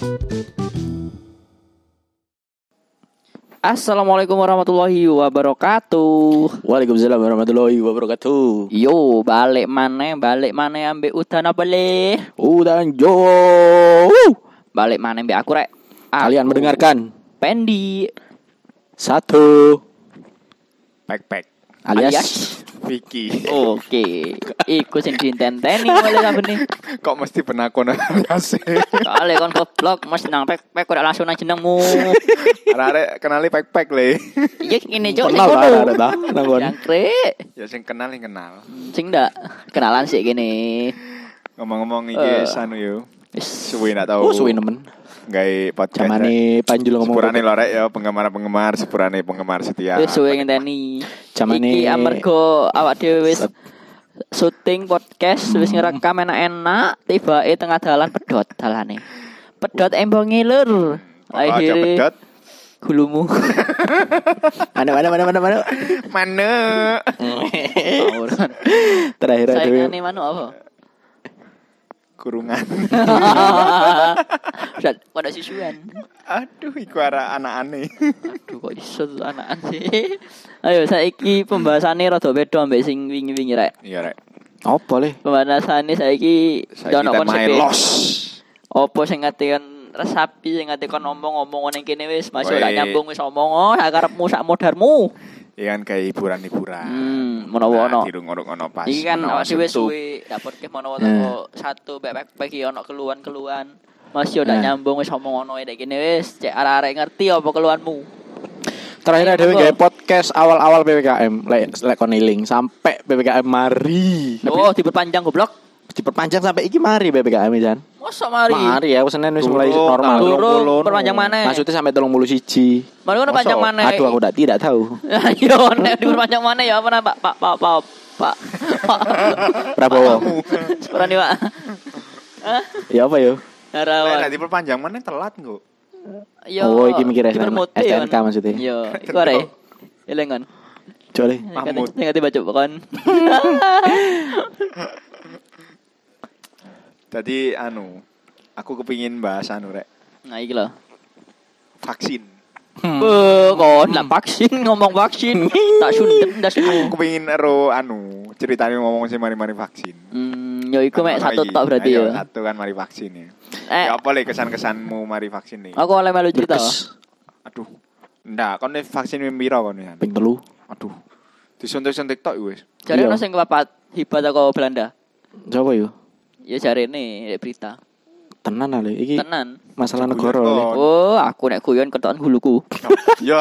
Assalamualaikum warahmatullahi wabarakatuh. Waalaikumsalam warahmatullahi wabarakatuh. Yo, balik mana ambek udan apa le? Udan jo. Balik mana ambek aku rek. Kalian mendengarkan Pendi satu Pek alias Vicky. Oke, iku sing ditenteni oleh kabeh. Kok mesti penakon sih? Kale kon goblok mesti nang pek kok langsung nang jenengmu. Arek kenali pek le. Iya ngene cok sing kenal kono. ada ta nanggon. Jangkrik. Ya sing kenal yang kenal. Sing ndak kenalan sih gini. Ngomong-ngomong iki anu yo. Wis Suwi ndak tahu. Oh suwi nemen. Gawe podcast. Jamane Panjul ngomong. Sepurane lorek ya penggemar-penggemar, sepurane penggemar setia. wis suwe ngenteni. Jamane Iki amarga awak dhewe wis syuting podcast wis ngerekam enak-enak, tibake tengah dalan pedhot dalane. Pedhot embonge lur. Aja Akhire pedot. gulumu. Mana. Mana? Ora. Terakhir ada Saingane manuk apa? Kurungan. Pada sisuan. Aduh, iku arek anak-ane. Aduh kok iso anakan sih. Ayo saiki pembahasannya rada beda ambek sing wingi-wingi rek. Iya, Rek. Apa le? Pembahasannya saiki Saiki ono kita konsep. main los. Opo sing ngatekan resapi sing ngatekan ngomong-ngomong ning kene wis masuk Weh. ora nyambung wis omong oh sak karepmu sak modarmu. Iya kan kayak hiburan-hiburan. Menawa ono. Dirung-ono pas. Iki kan menawa awak dhewe suntuk. suwe dapet ke menawa teko satu back iki ono keluhan-keluhan. Masih ora nyambung wis omong ono nek kene wis cek arek-arek ngerti apa keluhanmu. Terakhir ada Apa? gawe podcast awal-awal PPKM lek kon eling sampai PPKM mari. Oh diperpanjang goblok. Diperpanjang sampai iki mari PPKM Jan. Mosok mari. Mari ya Senin wis Durung, mulai normal. Durung perpanjang mana? Maksudnya sampai 31. Mari ngono panjang mana? Aduh aku tidak tahu. Yo nek diperpanjang mana ya apa Pak Pak. Prabowo. Sepurane Pak. Ya apa yo? Lah Harawan. diperpanjang mana telat kok. Yo. Oh, iki mikir dipermute, STNK kan. maksudnya. Yo, iku arek. Elengon. Coba Mahmud. Ngerti baca pokon. Tadi aku kepingin bahas Rek. Nah, iki lho. Vaksin. Kon lah vaksin ngomong vaksin. Tak sundep ndasmu. Aku kepingin ceritanya ngomong sih mari-mari vaksin. Yo iku mek satu tok berarti Ayo, ya. Satu kan mari vaksin ya. Eh. Ya apa le kesan-kesanmu mari vaksin nih? Aku oleh melu cerita. Aduh. Ndak, kon vaksin piro kon ya? Ping telu. Aduh. Disuntik-suntik tok wis. Jare Iya. ono sing kepapat hibat teko Belanda. Coba yo. Ya jarene berita. Tenan ale iki Tenan. masalah Guyon negara kok. le. Oh, aku nek guyon ketokan huluku. Ya.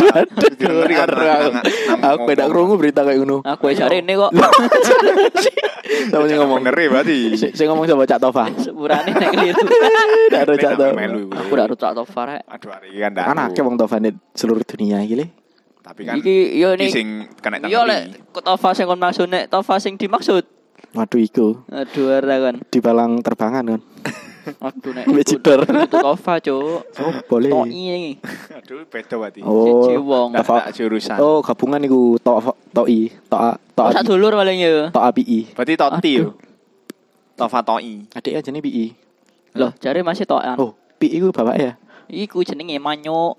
Aku beda krungu berita kayak ngono. Aku jarene kok. Sama sing ngomong. Bener berarti. Sing ngomong sama Cak Tova. Sepurane nek keliru. Ndak ada Cak Tova. Aku ora rut Tofar rek. Aduh, hari ini kan ndak. Kan akeh wong Tova di seluruh dunia iki le. Tapi kan Iki yo nek sing kena yo tanggung. lek Tova sing kon maksud nek Tova sing dimaksud. Waduh iku Aduh ora kan. di balang terbangan kan. Aduh nek Becidor. itu Tova, Cuk. Oh, boleh. Toi iki. Aduh, beda berarti. Oh. Siji wong. Tova. Tak jurusan. Oh, gabungan iku Toi, Oh, Toa sak dulur paling ya. Toa PI. Berarti Toti Aduh. yo. Tova Toi. Adik aja nih PI. Loh, jare masih toan. Oh, PI iku bapak ya. Iku jenenge manyuk.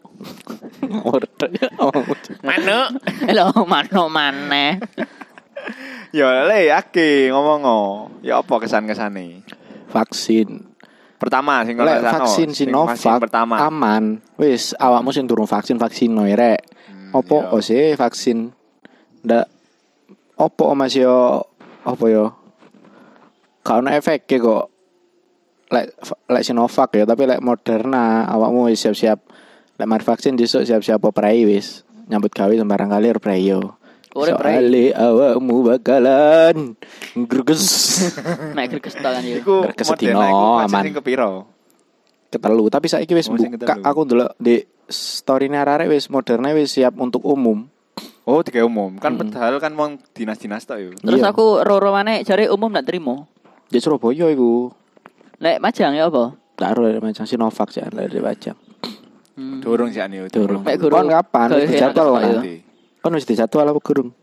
Mana? Lho, manuk maneh. Ya le ngomong ya apa kesan-kesane? Vaksin. Pertama sing Lek kesano, vaksin sing Sinovac pertama. aman. Wis awakmu sing durung vaksin noe rek. Opo iya. sih vaksin? Ndak opo Mas yo apa yo? Gak ono efek kok. Lek Sinovac ya, tapi lek Moderna awakmu wis siap-siap lek mari vaksin besok siap-siap operai wis. Nyambut gawe sembarang kali operai yo. Ora prai. Soale awakmu bakalan greges. Nek greges tangan yo. Iku Greges Moderna sedino, iku aman. vaksin sing kepiro? Ketelu, tapi saiki wis Oh, sing buka. ketelu. Aku ndelok di story-ne arek wis Moderna wis siap untuk umum. Oh, tiga umum. Kan padahal kan wong dinas-dinas tok yo. Terus Iya. aku roro maneh jare umum ndak terima. Di Surabaya iku. Lek Majang ya apa? Taruh macam Sinovac ya dari Majang. Durung sih ane Durung. Mek guru. Kon kapan? Kayak Wis dijadwal enak kan? ya. Kon wis dijadwal apa gurung?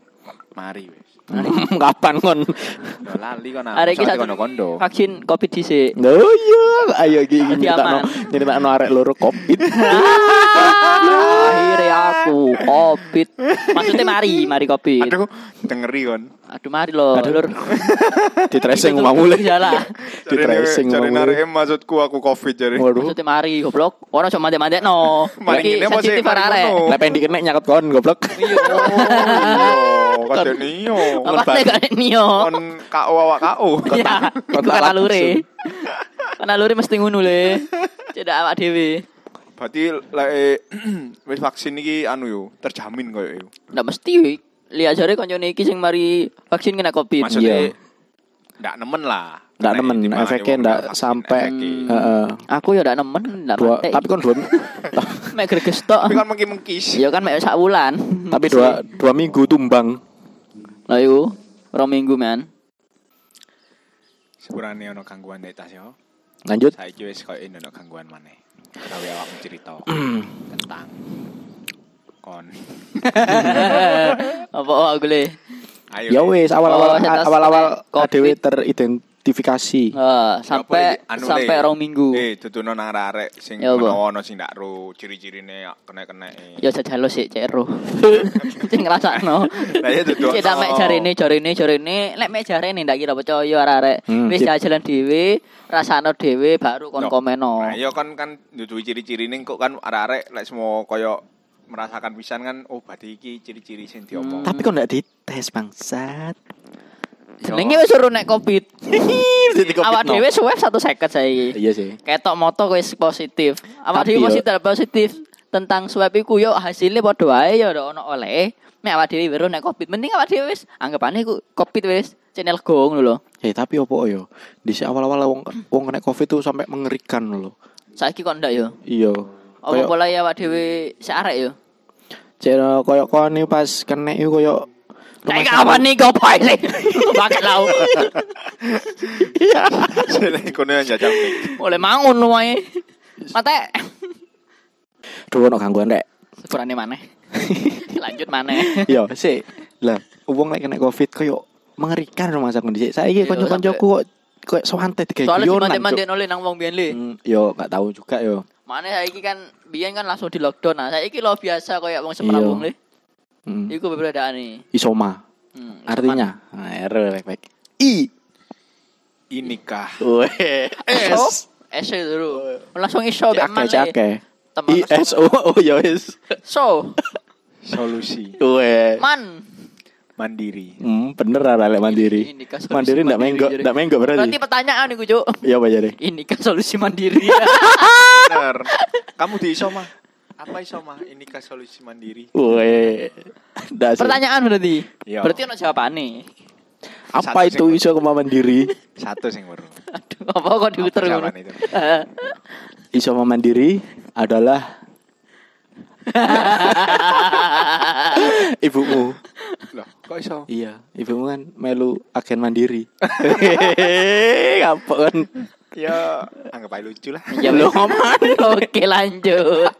Mari wis. Kapan kon? Yo lali kon. Arek iki satu kondo-kondo. vaksin Covid dhisik. Oh iya, ayo iki Jadi aman. nyeritakno arek loro Covid. Akhirnya aku Covid. Maksudnya mari Covid. Aduh, dengeri kon. Aduh mari lo, lur. Di tracing omahmu le. Jalan. Di tracing Cari omahmu. narek maksudku aku Covid jare. Waduh. Maksudnya mari goblok. Ora cuma mandek-mandekno. Mari Iki ngene apa sih? sensitif arek. Lek pendik kena nyaket kon goblok. Iya. Oh, kate niyo. Apa sih kan Nio? Kon KO awak KO. Ya, iku kan alure. Kan alure mesti ngono le. Cedak awak dhewe. Berarti lek wis vaksin iki anu yo, terjamin koyo yo. Ndak mesti. Lihat jare koncone iki sing mari vaksin kena Covid. Maksudnya ndak nemen lah. Ndak nemen Gimana efeknya wong ndak vaksin sampai efeknya. heeh. Aku ya ndak nemen, ndak Dua, mati. tapi kon dua Mek greges tok. Tapi kan mengki-mengkis. Ya kan mek sak wulan. tapi dua minggu tumbang. Lah iku 2 minggu men. Sepurane ono gangguan nek tas yo. Lanjut. Saiki wis koyo ono gangguan maneh. Gawe awakmu cerita tentang kon. Apa aku le? Ayo. Ya wis awal-awal setas awal-awal Covid. dhewe teridentifikasi. Sampai Anu, sampai Le. 2 minggu. Duduno nang arek sing Ya, apa? ono sing ndak ro ciri-cirine kena-kena. Ya jajalo sik cero. Sing ngrasakno. Lah ya dudu. Kita mek jarene, lek mek jarene ndak kira percaya arek-arek. Wis jalan dhewe, rasakno dhewe baru kon komeno. Nah, iya kan dudu ciri-cirine kok kan arek-arek lek semua koyo merasakan pisan kan oh berarti iki ciri-ciri sing diomong. Tapi kok ndak dites bangsat. Jenenge wis suruh nek Covid. Awak dhewe swab 1 second saiki. Iya sih. Ketok moto wis positif. Awak Tapi dhewe yo- positif tentang swab iku yo hasilnya padha wae yo ono oleh. Nek awak dhewe weruh nek Covid, mending awak dhewe wis anggapane iku Covid wis channel go ngono lho. Tapi opo yo? Di awal-awal wong kena Covid tuh sampai mengerikan loh. Saiki kok ndak yo? Iya. Apa pola awak dhewe sik arek yo? Cero koyo koni pas kena iku koyo Kayak kapan nih kau pilih? Bakal lau. Sele kono jajal mik. Oleh mangun lu wae. Mate. Duh ono gangguan rek. Sepurane maneh. Lanjut maneh. Yo sik. Lah, wong lek kena Covid koyo mengerikan rumah sakit dhisik. Saiki Iya, kanca-kancaku kok santai digawe Soalnya guyonan. dimandek oleh nang wong biyen le. Yo gak tahu juga yo. Maneh saiki kan biyen kan langsung di lockdown. Nah, saiki lo biasa koyo wong semerang wong le. Iku perbedaane. Isoma. Artinya, baik. Inikah. Weh. S dulu. Langsung iso mek maneh. Cake. Temen ISO ya wis. So, Solusi Weh. man. mandiri. Bener lah lek mandiri. Ini kan solusi Mandiri ndak menggo, jadi. ndak menggo Berarti berarti. pertanyaan iku, Cuk. Iya apa jadi? Ini kan solusi mandiri. Bener. Kamu di Isoma. Apa Isoma? Inikah solusi mandiri? Weh. Ndak sih. Pertanyaan berarti. Iya. Berarti ono jawabane. Apa Satu itu sing- iso kema mandiri? Satu sing baru. Aduh, apa kok diuter ngono? jawaban itu? Iso mandiri adalah ibumu. Loh, kok iso? Iya, ibumu kan melu agen mandiri. Kapok kan? Ya, anggap aja lucu lah. Ya belum Oke, lanjut.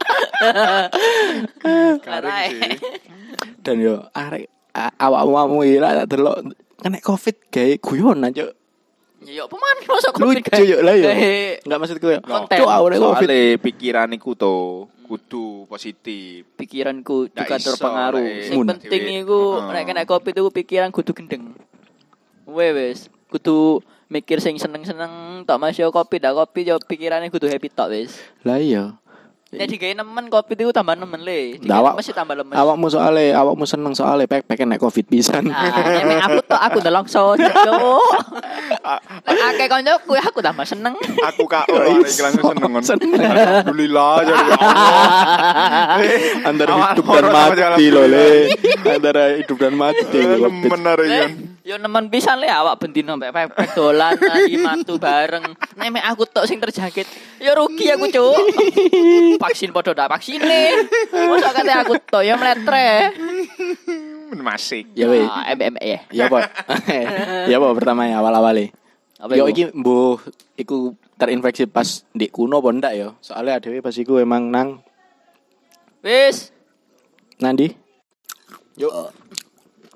Garing sih. Dan yo arek awak-awakmu iki lah tak delok kena Covid gawe guyonan, Cuk. Ya peman masuk Covid Lucu yo lah yo. Gawe Enggak maksudku yo. konten. Cuk, awake Covid. Soale pikiran iku to kudu positif. pikiranku Nggak juga iso, terpengaruh. lek. Sing Mun. penting iku nek kena Covid iku pikiran kudu gendeng. Wes, kudu mikir sing seneng-seneng tok Mas yo Covid dak Covid yo pikirane kudu happy tok wis. Lah iya. Nek digawe nemen Covid iku tambah nemen le. Nah, awak- Mesti tambah lemes. Awakmu seneng soalnya pek nek Covid pisan. Ah, nek aku tok aku nelongso cuk. Nek akeh koncoku aku tambah seneng. Aku kak ora iki langsung seneng kon. Alhamdulillah jadi ya Allah. Antara Awak hidup dan loro sama jalan mati loh alhamdulillah. le. Antara hidup dan mati. Covid. Bener ya. Yo nemen pisan le awak bendino pepek dolan lagi mantu bareng. Nek mek aku tok sing terjangkit, yo rugi aku, Cuk. Vaksin padha ndak vaksine. Mosok kate aku tok yo mletre. Masik. Ya weh. MME ya. Ya apa? Ya apa pertama ya awal-awale. Apa Yo iku? iki mbuh iku terinfeksi pas di kuno apa ndak yo? Soalnya adewe pas iku emang nang Wis. nandi. Yo.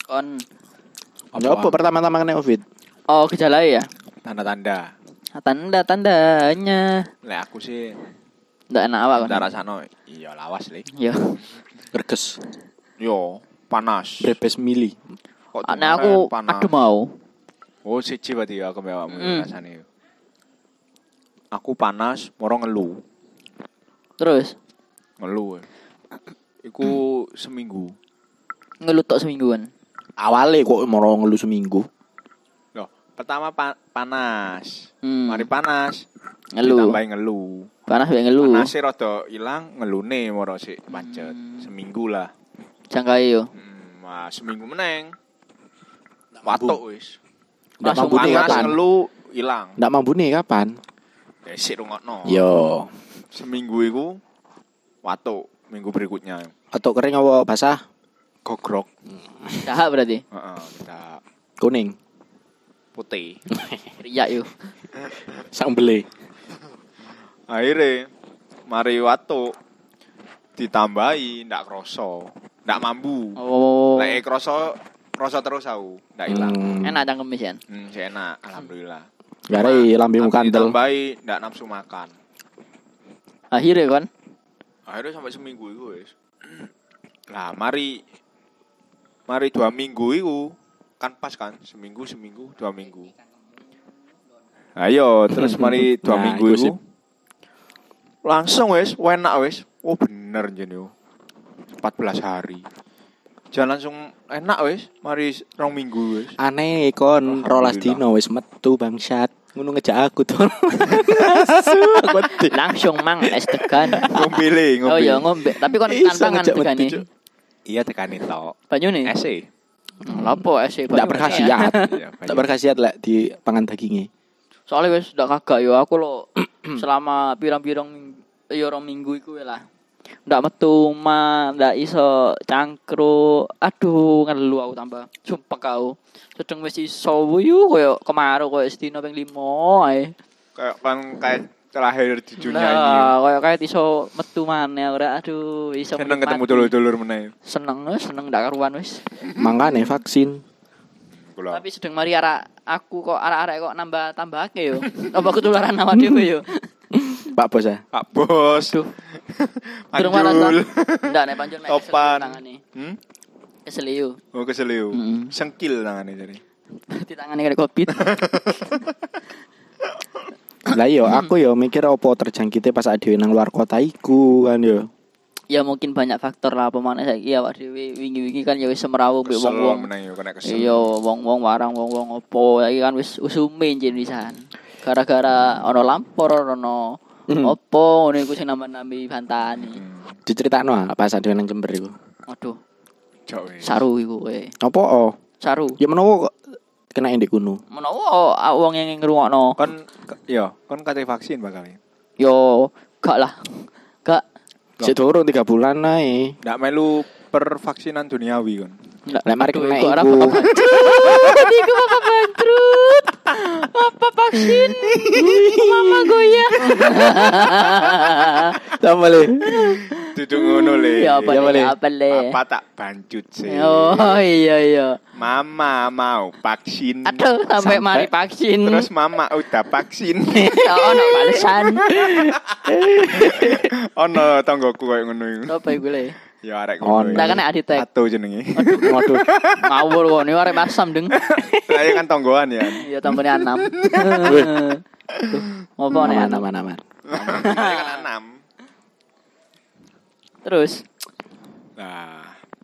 Kon. Ya apa pertama-tama kena Covid? Oh, gejala ya? Tanda-tanda. Tanda-tandanya. Lek aku sih Ndak enak awak kon. tak rasano iya lawas le. Yo. Greges. Yo, panas. Brebes mili. Kok Ana aku adem mau. Oh, siji berarti ya aku awakmu Mm. rasane. Aku panas, moro ngelu. Terus Ngelu. Iku seminggu. ngelutok semingguan. Awalnya kok mau ngeluh seminggu. Loh, pertama panas. Hmm. Mari panas. Ngelu. Ditambahi ngelu. Panas wae ngelu. Panasnya rada ilang, ngelune moro sik macet. Seminggu lah. Jangkai yo. Wah, seminggu meneng. Watuk wis. Ndak Langsung mampu nih Panas kapan? ngelu ilang. Ndak mampu nih kapan? Sik rungokno. Yo. Seminggu iku watuk, minggu berikutnya Atau kering apa basah? gogrok. Dahak berarti. Heeh, kita Kuning. putih. Riak yo. Sang beli. Akhirnya mari watuk ditambahi ndak kroso, ndak mambu. Oh. Lek kroso terus aku, ndak ilang. Enak cangkemis ya. Sik enak, alhamdulillah. Gara lambemu kandel. Ditambahi ndak nafsu makan. Akhirnya kan. Akhirnya sampai seminggu itu wis. Lah mari 2 minggu itu kan pas kan seminggu 2 minggu. Ayo terus mari 2 Nah, minggu iku itu sip. langsung wis enak wis. Oh bener jen yo. 14 hari. Jangan langsung enak wis, mari 2 minggu wis. Aneh kon rolas dino wis metu bangsat. Ngono ngejak aku tuh. Langsung mang es tegan. Ngombe. Oh ya ngombe. Tapi kon Iso tantangan ngejak tegane. metu, Cuk. Iya tekani tok. Banyu nih. Ese. Lapo es Ndak berkhasiat. Iya, Ndak berkhasiat lek di pangan dagingnya. Soalnya wis ndak kagak yo aku lo selama pirang-pirang yo 2 minggu iku lah. Ndak metu mah, ndak iso cangkruk. Aduh, ngelu aku tambah. Sumpah kau. Sedeng wis iso wuyu koyo kemaru koyo sedina ping 5 ae. Kayak terakhir di dunia ini. Lah, koyo kayak iso metu maneh ora. Aduh, iso Seneng ketemu menikmati. dulur-dulur meneh. Seneng ndak karuan wis. Mangkane vaksin. Kula. Tapi sedeng mari aku kok arek-arek kok nambah-tambahake yo. Apa ketularan awak dhewe yo. Pak Bos ya. Pak Bos. Duh. Durung waras ta? Panjul. Ndak nek pancen mek Topan. tangane. Hmm? Kesel yo. Oh keseliu. Mm-mm. Sengkil tangane jadi. Di tangane kena Covid. Lah yo aku yo mikir opo terjangkite pas dhewe nang luar kota iku kan yo. Ya mungkin banyak faktor lah pemane saiki awak dhewe wingi-wingi kan ya wis semrawut mbek Kesel wong-wong. meneh yo kena kesel. Iya, wong-wong warang wong-wong opo saiki kan wis usume jenisan. Gara-gara ono lampor ono opo ngene iku sing nambah-nambi bantani. Diceritakno pas dhewe nang Jember iku. Waduh, Cok wis. saru iku kowe. Opo? Oh? Saru. Ya menawa kok kena ndek kuno. Menawa wong yang ngrungokno. Kon kate vaksin bakal. Yo, gak lah. Gak. Sik durung 3 bulan ae. Ndak melu pervaksinan duniawi kon. Lek mari kena Iku ora iku. bangkrut. Iku bakal bangkrut. Apa vaksin? Mama goyah. Sama le. Duduk ngono le. Ya apa Ya, le? boleh. Apa le? Apa tak bancut sih. Oh iya. Mama mau vaksin. Aduh, sampai mari vaksin. Terus mama udah vaksin. Oh, no balesan. Ono tanggoku koyo ngono iku. Apa iku le? Ya arek Oh, ngono. Ndak kan aditek. Satu jenenge. Waduh. Ngawur kok ini arek masam deng. Saya kan tonggoan ya. Iya tambahnya 6. Apa nih Aman 6? aman aman. Saya kan 6. Terus Nah.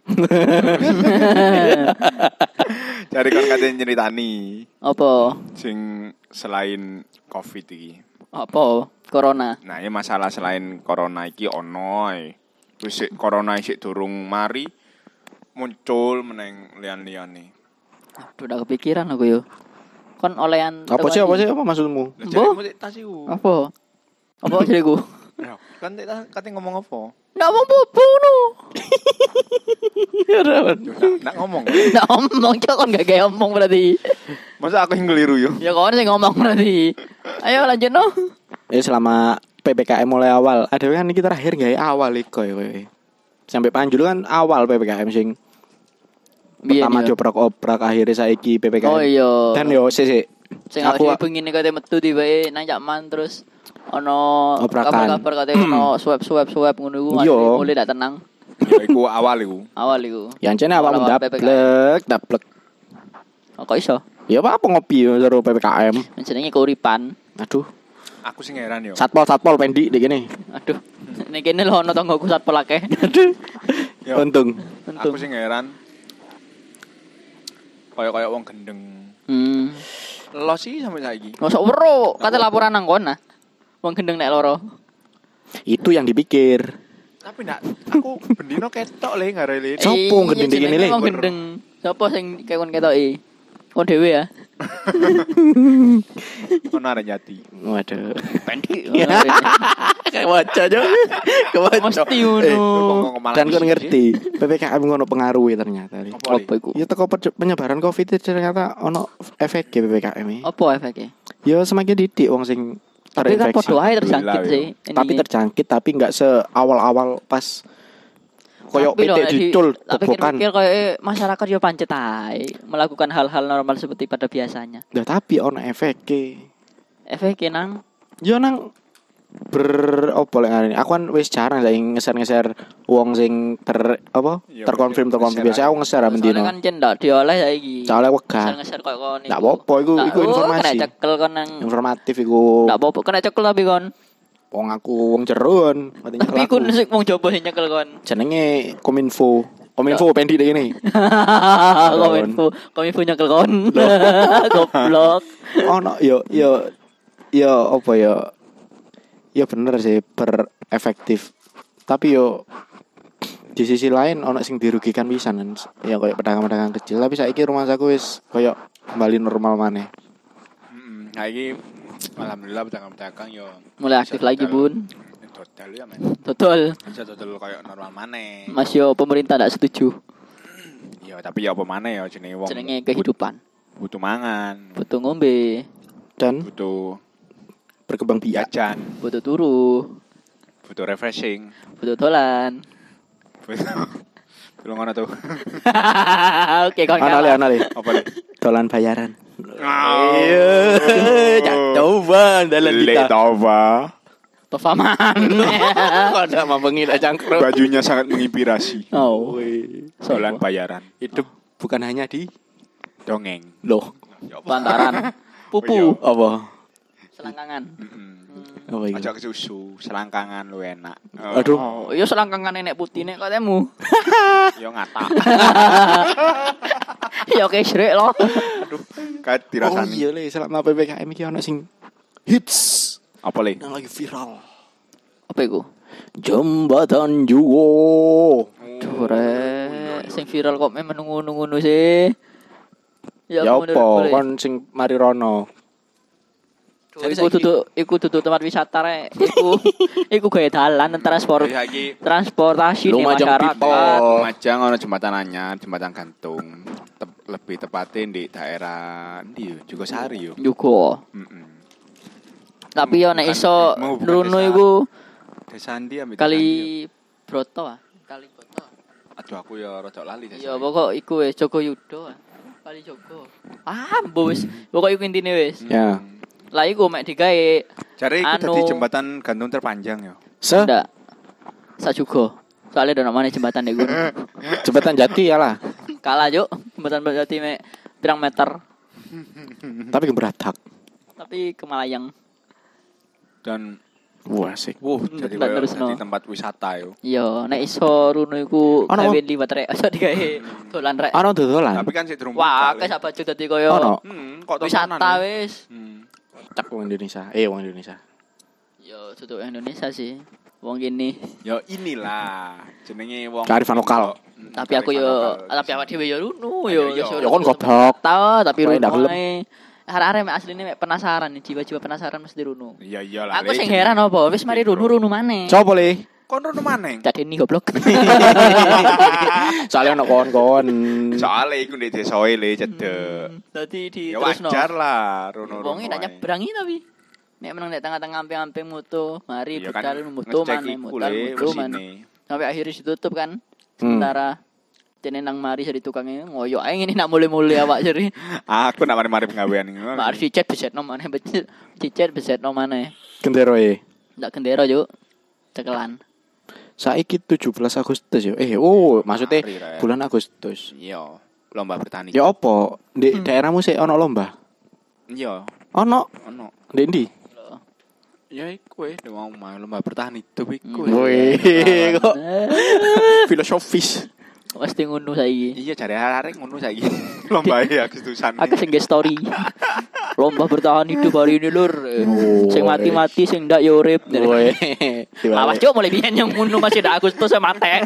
Cari kon katanya nyeritani apa? sing selain Covid iki. Apa? Corona. Nah, ya masalah selain corona iki ono ae. Wis sik corona sik durung mari muncul meneng lian-liane. Aduh, udah kepikiran aku yo. Kon olehan Apa sih apa maksudmu? Lah Mbok? jarimu sik tas iku. Apa? Apa jadiku? Ya, kan kate ngomong apa? Ndak mau bobo no. Yo, nak ngomong. Ndak omong cok kon gak gawe omong berarti. Masa aku yang keliru yo? Ya kon sing ngomong berarti. Ayo lanjut no. Selama PPKM mulai awal, ada kan iki terakhir gawe awal iku kowe. Sampai Panjul kan awal PPKM sing Biyen pertama yo. diobrak-obrak akhirnya saiki PPKM. Oh iya. Dan yo sik. Sing Aku aku bengi kate metu tibae nang Cakman terus ono Obrakan. kabar kate ono swab ngono iku Iya. mulai dak tenang Ya iku awal iku. awal iku. yang cene awakmu Awal-awal dablek. Oh, kok iso? Ya apa ngopi yo karo PPKM. Jenenge keuripan. Aduh, Aku sing heran yo. satpol pendik dik kene. Aduh. Nek kene lho ono tanggoku satpol akeh. Yo. Untung. Aku sing heran. Kayak wong gendeng. Lo sih sampai saiki. Mosok wero, kate laporan nang kono. Wong gendeng nek loro. Itu yang dipikir. Tapi ndak aku bendino ketok le ngarele. Sopo gendeng Iya, kene jenenge le? wong gendeng. Sopo sing kekon ketoki? Kon dhewe ya. Ono arek nyati. Waduh. Pendik. Kayak waca aja. Mesti ngono. Dan kon ngerti, PPKM ngono pengaruhi ternyata. Li. Apa, Li? Apa iku? Ya teko penyebaran Covid itu ternyata ono efek PPKM ini. Apa efeknya? Ya semakin didik wong sing Tapi kan terinfeksi. podo ae terjangkit Alhamdulillah, sih. Tapi terjangkit tapi enggak seawal-awal pas koyo Tapi lho, PT dicul tak tobokan. pikir-pikir kayak masyarakat yo pancet ae melakukan hal-hal normal seperti pada biasanya. Lah tapi ono efeke. Efeknya nang Yo nang opo lek ngarani. Aku kan wis jarang lek ngeser-ngeser wong sing Iya, terkonfirm ngeser biasa aku ngeser soalnya mendino. kan cendak diolah saiki. Soalnya wegah. Ngeser koyo kon. Ndak apa-apa iku informasi. Kena cekel kon nang. Informatif iku. Ndak apa-apa kena cekel tapi kon. Wong aku wong jeron. Tapi kun sik wong jopo sing nyekel kon. Jenenge Kominfo pendik dek ini. Kominfo nyekel kon. Goblok. Ono yo apa yo. Ya bener sih berefektif. Tapi yo di sisi lain ono sing dirugikan pisan. Ya kayak pedagang-pedagang kecil, tapi saiki rumah saku wis kayak kembali normal maneh. Saiki alhamdulillah pedagang-pedagang yo Mulai aktif lagi, Bun. Total ya men. Total. Bisa total kayak normal maneh. Mas yo pemerintah ndak setuju. Ya tapi ya apa maneh ya jenenge wong. Jenenge kehidupan. Butuh mangan, Butuh ngombe, Dan butuh berkembang biak. jajan, butuh turu, butuh refreshing. butuh dolan. Belum ngono tuh. Oke, kon Ana le. Apa le? Dolan bayaran. Iya. Coba dalan Le kita. Tova. Tofaman. Ada mambengi dak cangkruk. Bajunya sangat menginspirasi. Oh, Dolan bayaran. Hidup bukan hanya di Dongeng. loh. bantaran. Pupu, Apa? selangkangan. Apa itu? Aja ke susu, selangkangan lu enak. Aduh. Oh, iya selangkangan nenek putih nek katemu. Yo ngata. Ya oke srek loh. Kayak Oh dirasani. iya le, selama PPKM iki ono sing hits Apa le? yang lagi viral. Apa iku? Jembatan Juwo. Duh, rek. Sing viral kok memang ngono-ngono sih. Ya menurut apa boleh. kon sing mari rono. Iku dudu tempat wisata rek. Iku gaya dalan Saiki transportasi di Lumajang masyarakat. people. Lumajang ono jembatan anyar, jembatan gantung. Lebih tepatnya di daerah ndi yo, Jogosari yo. Juga. Tapi yo nek iso menghubungkan Runo desa. iku Desa ndi ambek kali Broto ah. Kali Broto. Aduh aku ya rada lali desa. Ya pokok iku wis Joko Yudo. Kali Joko. Mbok wis. Pokok iku intine wis. Ya. Lah iku mek digawe Jare iku Anu. dadi jembatan gantung terpanjang ya. Jembatan ndak juga. Soalnya ada namanya jembatan dek gunung. Jati ya lah. Kalah yuk jembatan berarti mek pirang meter. Tapi geberatak. Tapi Kemalayang. Dan Wah sih. jadi Tempat kayak terusno. jadi tempat wisata yo. Iya, nek iso Runo iku Ono, gawe liwat rek aja digawe dolan rek. Ono dodolan. Tapi kan sik durung Wah, buka, akeh Le. sak baju dadi koyo Ono. Kok tontonan, wisata Le? wis. Cak wong Indonesia. Wong Indonesia. Yo tutup Indonesia sih. Wong gini. Ya inilah jenenge wong Kearifan lokal. Tapi aku yo tapi awak dhewe yo Runo yo. Iya, Ya iya. kon goblok. Tahu tapi Wah, Runo ndak gelem. ae. Arek-arek mek asline mek penasaran nih, jiwa-jiwa penasaran mesti Runo. Iya iyalah. Aku sing heran apa? Wis mari Runo maneh. Coba le. Kon rono maneng. Cadeni goblok. Soalnya ono kon-kon. Soale iku ndek desoe le cedek. Dadi di Ya terusno. wajar lah rono. Wonge ndak nyebrangi tapi. Nek menang nek tengah-tengah amping-amping mutu, mari Iya budal kan, mutu ngecek maneh iku mutal le mutu maneh. mesine. Sampai akhirnya ditutup kan. Sementara Dene nang mari sari tukangnya ngoyo ae ngene nak mulai-mulai awak jeri. Aku nak mari-mari penggawean iki. Mak cicet besetno maneh cicet besetno maneh. Genderoe. Ndak gendera yo. Cekelan. Saiki 17 Agustus yo. Maksudnya Mari, Rek. bulan Agustus. Iya, lomba bertani. Ya apa? Di daerahmu sih ono lomba? Iya, Ono. ono. Ndek ndi? Ya iku wis mau lomba bertani itu iku. Wih, kok filosofis. Pasti ngono saiki. Iya, jare arek ngono saiki. Lomba ya Agustusan. Akeh sing story. Lomba bertahan hidup hari ini lur. Sing mati-mati sing ndak ya urip. Wih. Awas cuk mulai biyen yang ngono masih dak Agustus mate.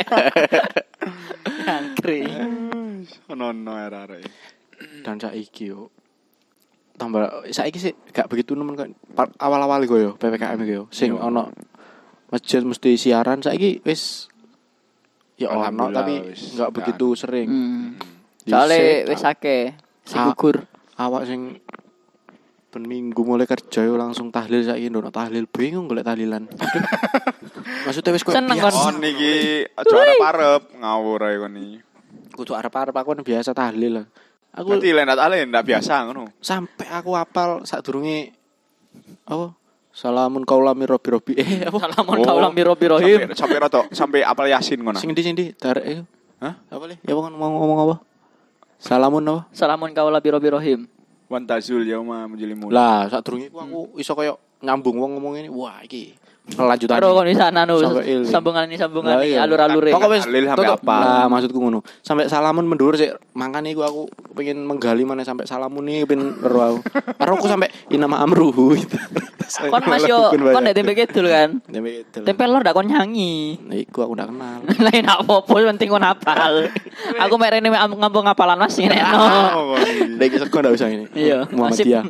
Angkri. Ono arek. Dan saiki yo. Tambah saiki sih gak begitu nemen kan awal-awal iku yo PPKM iku yo. Sing ono masjid mesti siaran saiki wis ya ono Alhamdulillah, tapi wis enggak begitu sering. Soale wis akeh sing gugur. Awak sing ben minggu mulai kerja yo langsung tahlil saiki ndono tahlil bingung golek tahlilan. Maksudnya wis kok Seneng kan? Oh niki aja arep ngawur ae kon iki. kudu arep-arep aku kan biasa tahlil lah. Aku Berarti ndak biasa ngono. sampai aku hafal sadurunge apa? Salamun qaulami robbi. Apa? Salamun kaulam birobirohim. Sampai apal Yasin ngono. Sing ndi darek. Hah? Apa le? Ya kan mau ngomong apa? Salamun apa? Salamun kaulam birobirohim. Wantazul yauma mujlimun. Lah, sadurunge aku iso koyo nyambung wong ngomong ini. Wah, iki kelanjutan. Karo kon di sana nu Sampai il. sambungan Lah, iya. alur-alure. Pokoknya wis Tahlil sampai tutup. apa? Lah, maksudku ngono. Sampai salamun mendur sih. Makane iku aku pengen menggali mana sampai salamun nih pengen ero aku. Karo aku sampai inama amruhu gitu. Kon Mas yo kon nek tempe kidul kan. Tempe lor dak kon nyanyi. Nah, iku aku ndak kenal. Lain apa-apa penting kon hafal. Aku mek rene ngambung hafalan Mas ngenekno. Nek iki sego ndak usah ini. Iya, Muhammadiyah.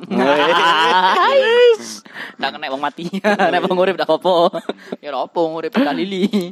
Ndak kena wong mati. Nek wong urip ndak apa. Ya ora apa urip dalili.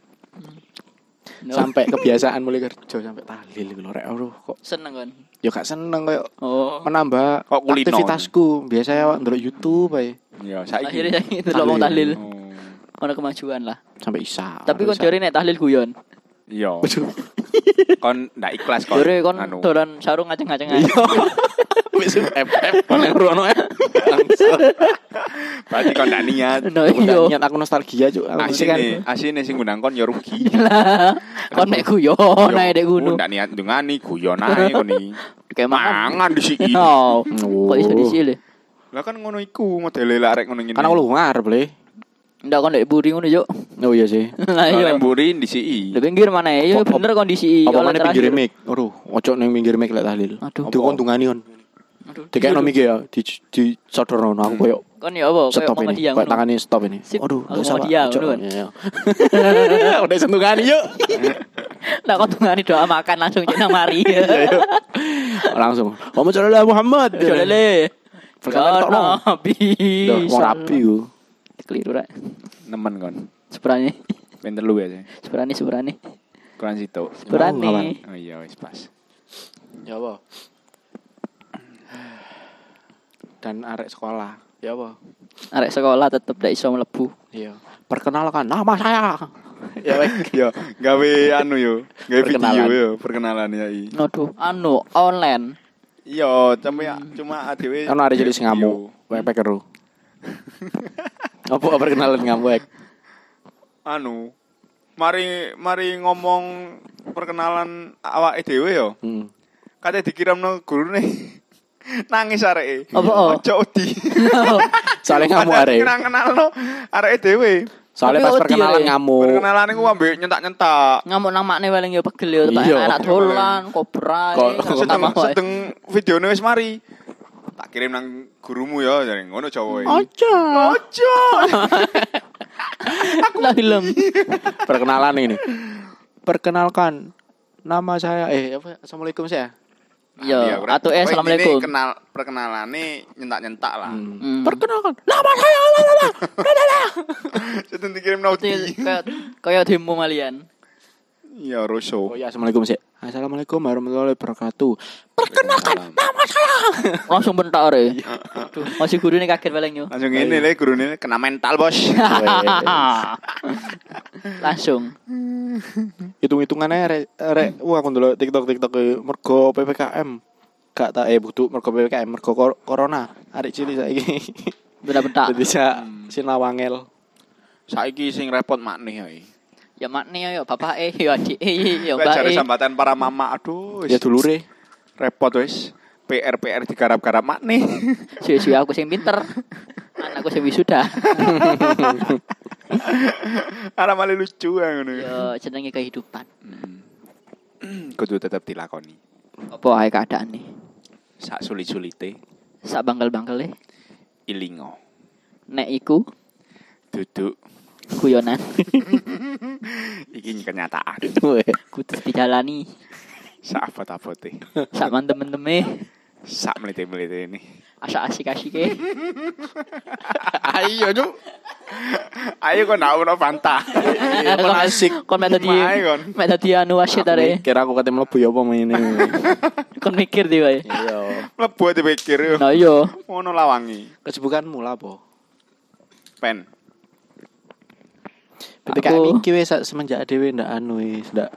Sampai kebiasaan mulai kerja sampai tahlil iku lho rek kok. Seneng kan. Ya gak seneng koyo Oh. menambah Kok kulino? aktivitasku. Biasanya awak ndelok YouTube ae Ya saiki. Akhirnya itu lho wong tahlil. Oh. Ono kemajuan lah. sampai isya. Tapi kon jare nek tahlil guyon. Iya. Kon ndak ikhlas kon. Jare kon Anu. dolan sarung ngaceng-ngaceng. Wis FF kon ngrono ya. Berarti kon ndak niat. No iya. Niat aku nostalgia cuk. Asine sing ngundang kon ya rugi. Lah, kon mek guyon ae dek Yo, gunung. ndak niat ndungani guyon ae kon iki. Kayak mangan. Mangan disiki. Oh. Kok iso disile? Lah kan ngono iku modele lek arek ngono ngene. Kan aku luar boleh. Ndak kon ndek buri ngono yo. Oh iya sih. Lah iya. Lek mburi disiki. Di pinggir mana ya? Apa- Bener kondisi. Apa mana pinggir mic? Aduh, ojo ning pinggir mic lek tahlil. Aduh. Dikontungani kon. Aduh. Dikekno mic ya di sodorno aku koyo Kon ya apa? Kayak stop ini. Muhammadiyah Kayak ngono. tangane stop ini. Sip, Aduh, aku nggak usah, Pak. Muhammadiyah, Ojo. ngono kan. Iya. Udah sentungani yuk. Nah, kon tungani doa makan langsung cek nang mari. Langsung. Muhammad sallallahu Muhammad. Jolele. Perkataan tok no. Nabi. Duh, wong rapi ku. Keliru rek. Nemen kon. Seberani. Pinter lu ya. Seberani. Kurang situ. Seberani. Oh iya wis pas. Ya apa? Dan arek sekolah. Ya apa? Arek sekolah tetep ndak iso mlebu. Iya. Perkenalkan nama saya. Ya baik. Yo, gawe anu yo. Gawe Perkenalan. video yo, perkenalan ya i. Aduh, anu online. Iya, cuma adewe. Kan arek jadi sing ngamuk. Wepek keru. Apa perkenalan ngamuk? Anu. Mari ngomong perkenalan awake dhewe yo. Kate dikirimno gurune. Nangis areke. Apa? Ojo odi. Soalnya ngamuk arek. Kenalno areke dhewe. Soalnya Tapi pas wedi perkenalan arek. ngamuk. Perkenalan iku ambek nyentak-nyentak. Ngamuk nang makne paling ya pegel ya tak Iya. anak dolan, kobra. Sedeng videone wis mari. Tak kirim nang gurumu ya, jare ngono Jawa iki. Ojo. Ojo. Lah film. Perkenalan ini. Perkenalkan nama saya apa? Assalamualaikum saya. Iya, ora. atau Pokoknya assalamualaikum. ini perkenalane nyentak-nyentak lah. Perkenalkan nama saya. Sedeng dikirim noti. Kayak demo malian. Ya Roso. Oh ya, assalamualaikum sih. Assalamualaikum warahmatullahi wabarakatuh. Perkenalkan nama saya. Langsung bentak re. Aduh, masih gurune kaget paling yo. Langsung ngene le gurune kena mental, Bos. Langsung. Hitung-hitungannya rek wah aku ndelok TikTok mergo PPKM. Gak tak butuh mergo PPKM, mergo corona. Arek cilik saiki. Bedak-bedak. Dadi sinau wangel. Saiki sing repot makne ae. Ya makne ya bapake ya adike ya Lek jare mbake. sambatan para mama, aduh Ya dulure. repot wis. PR digarap-garap makne. Suwe-suwe aku sing pinter. Anakku sing wisuda. Ara malah lucu ngono. Ya jenenge kehidupan. Kudu tetep dilakoni. Apa ae keadaane? Sak sulit-sulite Sak bangkel-bangkele ilingo. nek iku Duduk guyonan iki kenyataan. kudu dijalani Sak abot-abote. sak manteme-manteme Sak melite-melite ini. asa asik-asike. Ayo, Cuk. Ayo kok ndak ono Fanta. Kon asik. Kon mek dadi Mae, kon. mek dadi anu wasit are. Kira aku kate mlebu ya apa ngene. Kon mikir di wae. Iya. Mlebu dipikir yo. Nah iya. Ngono lawangi. Kesibukanmu lah apa? Pen. PPKM iki wis semenjak dhewe ndak anu wis ndak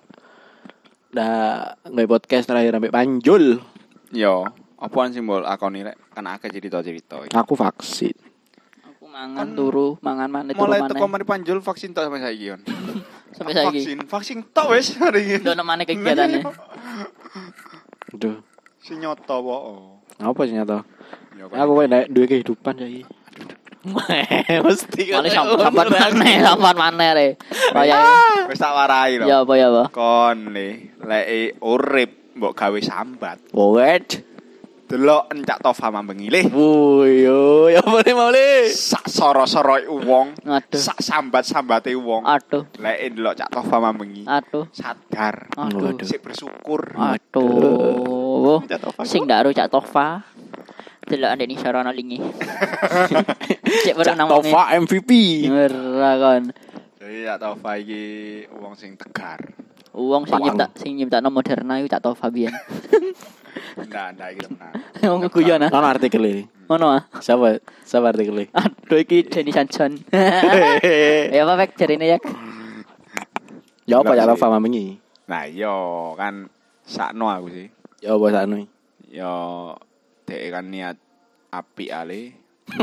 nggak podcast terakhir sampai panjul. Yo, apaan simbol akoni rek kan akeh cerita-cerita. Aku vaksin. Aku mangan turu, mangan maneh turu Mulai teko maneh. mari panjul vaksin tok sampai saiki yon. Sampai saiki. Vaksin tok wis hari iki. Ndono maneh kegiatane. Aduh. Si nyoto po. Apa sih nyata? Yo, Aku kok nek duwe kehidupan saiki. Mesti Mane sampan maneh re. Kaya wis tak warai lho. ya apa. Kon lek urip mbok gawe sambat. Wet. Delok encak tofa mambengi le. Wuyo, ya boleh mau le. Sak soro-soroe wong. Aduh. Sak sambat-sambate wong. Aduh. Lek delok cak tofa mambengi. Aduh. Sadar. Aduh. Sik bersyukur. Aduh. Cak Tofa. Sing ndak Cak Tofa. Delok ndek ni sarana lingi. Cek bareng nang Tova MVP. Ora kon. Jadi cak tofa iki wong sing tegar. Wong sing nyiptakno Moderna iku Cak Tofa biyen. Ndak iki tenan. Wong guyon ah. Ono artikel iki. Ngono ah. Siapa artikel iki? Aduh iki Denny Sanjon. Ya apa Pak jarine ya? Ya apa ya Tova mamengi? Nah, yo kan sakno aku sih. Ya apa sakno? Yo dhek kan niat apik ale.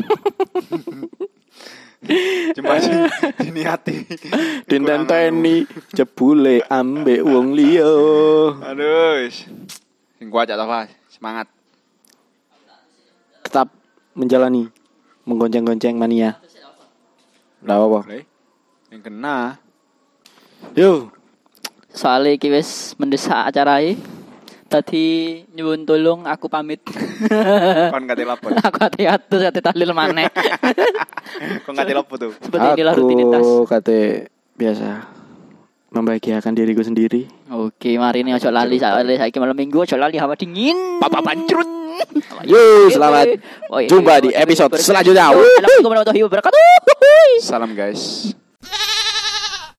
Cuma sih diniati. Dintenteni jebule ambek wong liya. Aduh. Sing kuat cak tofa, semangat. Tetap menjalani menggonceng-gonceng mania. Lah apa? Yang kena. Yo, Soale iki wis mendesak acarae. Tadi nyuwun tolong aku pamit. Kon kate lapor. Aku hati-hati tahlil maneh. Kon kate lapor tuh. Seperti inilah rutinitas. aku kate biasa membahagiakan diriku sendiri. Oke, mari ini ojo lali saiki malam Minggu ojo lali hawa dingin. Papa pancrut. Yo, selamat jumpa di episode selanjutnya. Assalamualaikum warahmatullahi wabarakatuh. Salam guys.